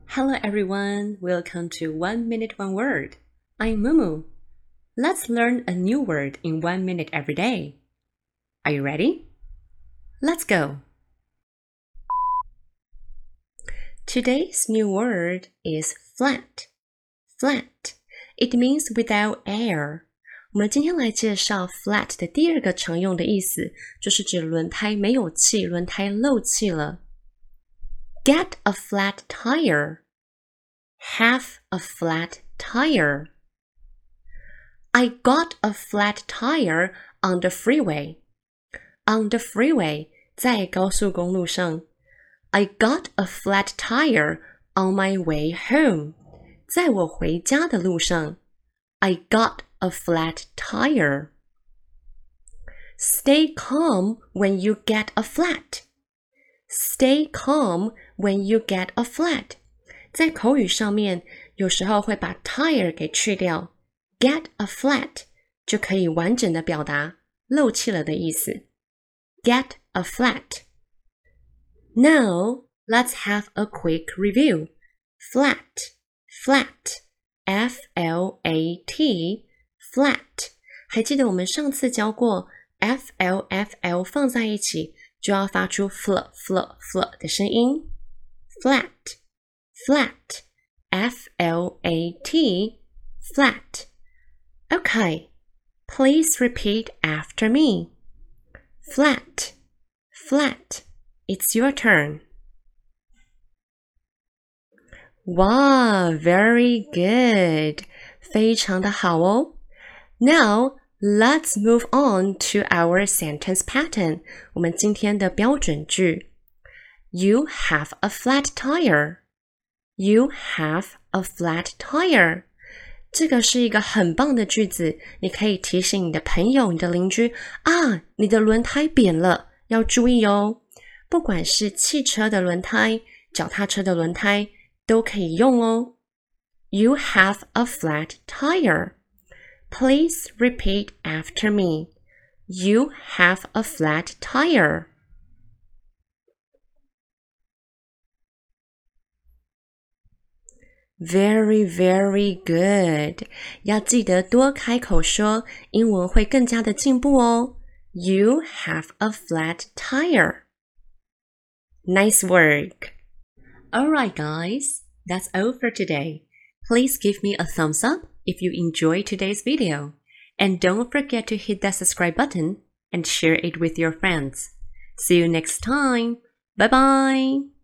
Hello everyone, welcome to 1 Minute 1 Word. I'm Mumu. Let's learn a new word in 1 minute every day. Are you ready? Let's go. Today's new word is flat. Flat. It means without air. 我们今天来介绍 flat 的第二个常用的意思，就是指轮胎没有气，轮胎漏气了。Get a flat tire. Have a flat tire. I got a flat tire on the freeway. On the freeway, 在高速公路上。I got a flat tire on my way home. 在我回家的路上。I got a flat tire. Stay calm when you get a flat. Stay calm when you get a flat. 在口语上面，有时候会把 tire 给去掉 ，get a flat 就可以完整的表达漏气了的意思。Get a flat. Now, let's have a quick review. Flat, flat, F-L-A-T, flat. 还记得我们上次教过 F-L-F-L 放在一起就要发出 fl 的声音。Flat, flat, F-L-A-T, flat. Okay, please repeat after me. Flat, flat. It's your turn. Wow, very good. 非常的好哦。Now, let's move on to our sentence pattern. 我们今天的标准句。You have a flat tire. You have a flat tire. 这个是一个很棒的句子，你可以提醒你的朋友、你的邻居啊，你的轮胎扁了，要注意哦。不管是汽车的轮胎、脚踏车的轮胎，都可以用哦。You have a flat tire. Please repeat after me. You have a flat tire. Very, very good. 要记得多开口说，英文会更加的进步哦。You have a flat tire. Nice work. Alright guys, that's all for today. Please give me a thumbs up if you enjoyed today's video. And don't forget to hit that subscribe button and share it with your friends. See you next time. Bye bye.